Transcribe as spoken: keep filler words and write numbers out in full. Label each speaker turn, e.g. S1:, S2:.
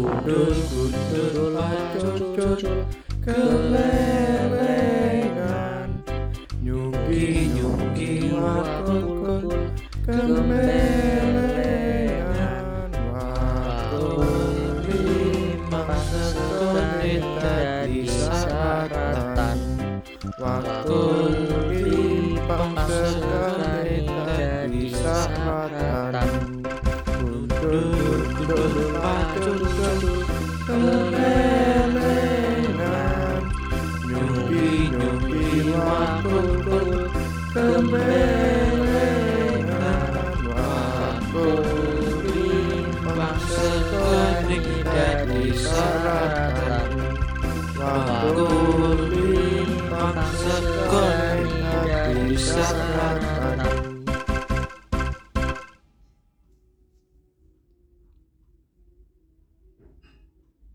S1: Gundul gundul pacul kelelengan, nyuki nyuki wakul kelelengan, wakul limang sekonit dadi saratan, wakul limang sekonit dadi saratan. Gundul pacul kelelengan, nyuki nyuki wakul kelelengan, wakul limang sekonit dadi saratan, wakul limang sekonit dadi saratan.